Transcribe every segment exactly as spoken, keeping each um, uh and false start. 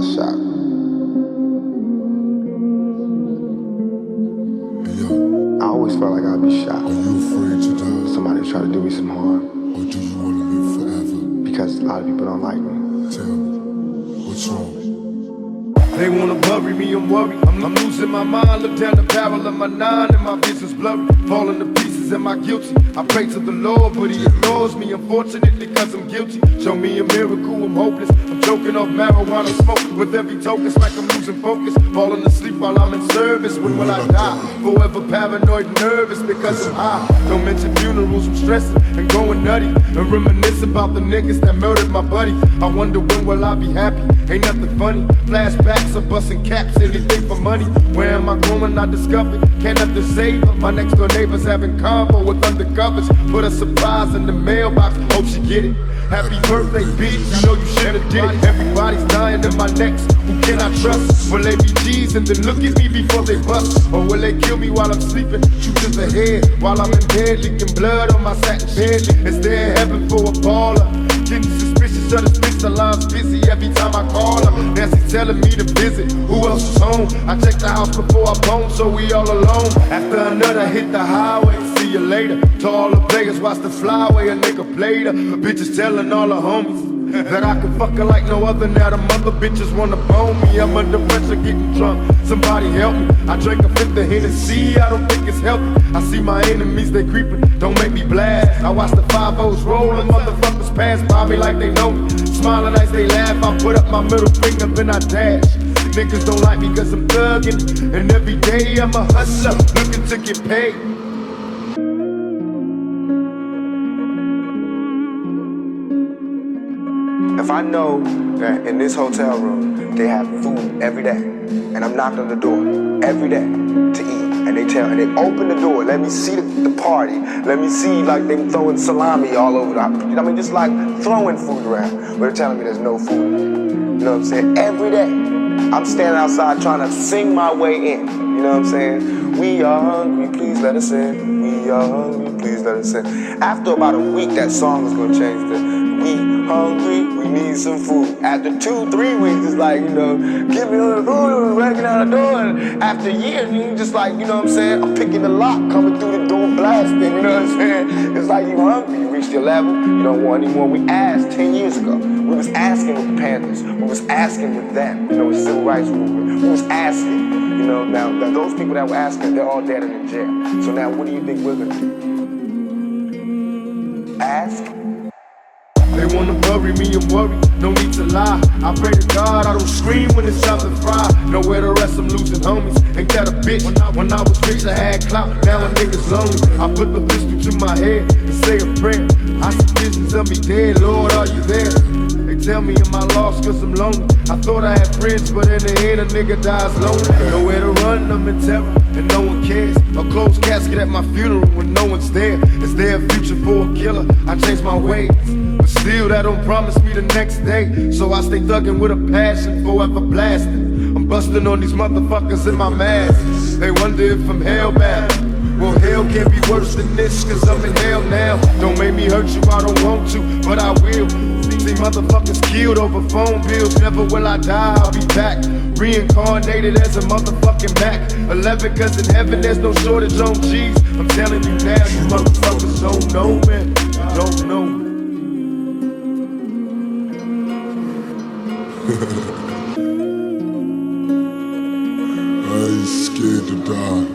got shot. Hey, yo. I always felt like I'd be shot. Are you afraid to die? Somebody try to do me some harm. Or do you want to live forever? Because a lot of people don't like me. Tell me, what's wrong? They wanna bury me, I'm worried. I'm, I'm losing my mind. Look down the barrel of my nine and my vision's blurry. Falling to pieces, am I guilty? I pray to the Lord, but he ignores me, unfortunately, cause I'm guilty. Show me a miracle, I'm hopeless. I'm choking off marijuana smoke. With every token, it's like I'm losing focus. Falling asleep while I'm in service. When will I die? Forever paranoid and nervous because I'm high. Don't mention funerals, I'm stressing and going nutty. And reminisce about the niggas that murdered my buddy. I wonder when will I be happy? Ain't nothing funny. Flashbacks of busting caps, anything for money. Where am I going? I discovered. Can't nothing save her. My next door neighbors having convo with undercovers. Put a surprise in the mailbox. Hope she get it. Happy birthday, bitch. You know you should've did it. Everybody's dying in my next. Who can I trust? Will they be G's and then look at me before they bust? Or will they kill me while I'm sleeping? Shoot to the head while I'm in bed, leaking blood on my satin bed. Is there heaven for a baller? Getting suspicious of this bitch, the line's busy every time I call her. Nancy's telling me to visit. Who else is home? I checked the house before I bone, so we all alone. After another hit the highway, see you later. To all the players, watch the flyway, a nigga played her. Bitches telling all the homies that I can fuck her like no other. Now the mother bitches wanna bone me. I'm under pressure getting drunk, somebody help me. I drank a fifth of Hennessy, I don't think it's healthy. I see my enemies, they creeping, don't make me blast. I watch the five O's rollin', motherfuckers pass by me like they know me. Smiling as they laugh, I put up my middle finger, then I dash. Niggas don't like me cause I'm thuggin', and every day I'm a hustler, looking to get paid. If I know that in this hotel room they have food every day, and I'm knocking on the door every day to eat, and they tell and they open the door, let me see the, the party, let me see like they throwing salami all over the, I mean just like throwing food around, but they're telling me there's no food. You know what I'm saying? Every day, I'm standing outside trying to sing my way in. You know what I'm saying? We are hungry, please let us in. We are hungry, please let us in. After about a week, that song is gonna change to we hungry, we need some food. After two, three weeks, it's like, you know, give me the food, breaking out the door. And after a year, you just like, you know what I'm saying? I'm picking the lock, coming through the door, blasting, you know what I'm saying? It's like you hungry, you reached your level, you don't want any more. We asked ten years ago. We was asking with the Panthers. We was asking with them, you know, with civil rights movement. We was asking, you know, now, now those people that were asking, they're all dead and in jail. So now what do you think we're gonna do? Ask? They wanna bury me and worry, no need to lie. I pray to God I don't scream when it's time to fry. Nowhere to rest, I'm losing homies. Ain't that a bitch? When I, when I was rich, I had clout. Now a nigga's lonely. I put the pistol to my head and say a prayer. I see visions of me dead, Lord, are you there? They tell me am I lost cause I'm lonely. I thought I had friends, but in the end a nigga dies lonely. Nowhere to run, I'm in terror, and no one cares. A closed casket at my funeral when no one's there. Is there a future for a killer? I changed my ways, but still that don't promise me the next day. So I stay thuggin' with a passion, forever blasting. I'm busting on these motherfuckers in my mask. They wonder if I'm hellbound. Well, hell can't be worse than this, cause I'm in hell now. Don't make me hurt you, I don't want to, but I will. See motherfuckers killed over phone bills. Never will I die, I'll be back. Reincarnated as a motherfucking Mac. Eleven, cause in heaven there's no shortage on G's. I'm telling you now, you motherfuckers don't know, man. You don't know. I ain't scared to die.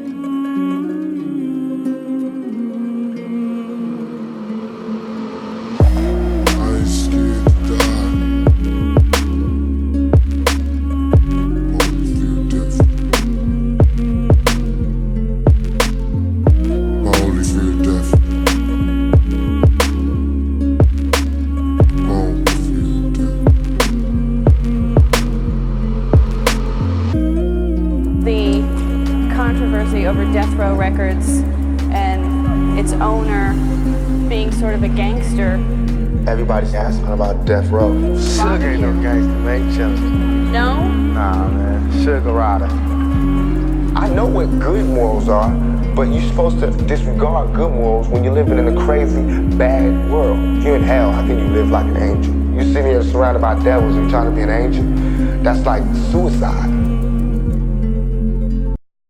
Over Death Row Records and its owner being sort of a gangster. Everybody's asking about Death Row. Sugar ain't no gangster, man. Chillin'. No? Nah, man. Sugar rider. I know what good morals are, But you're supposed to disregard good morals when you're living in a crazy, bad world. If you're in hell, how can you live like an angel? You're sitting here surrounded by devils and you're trying to be an angel? That's like suicide.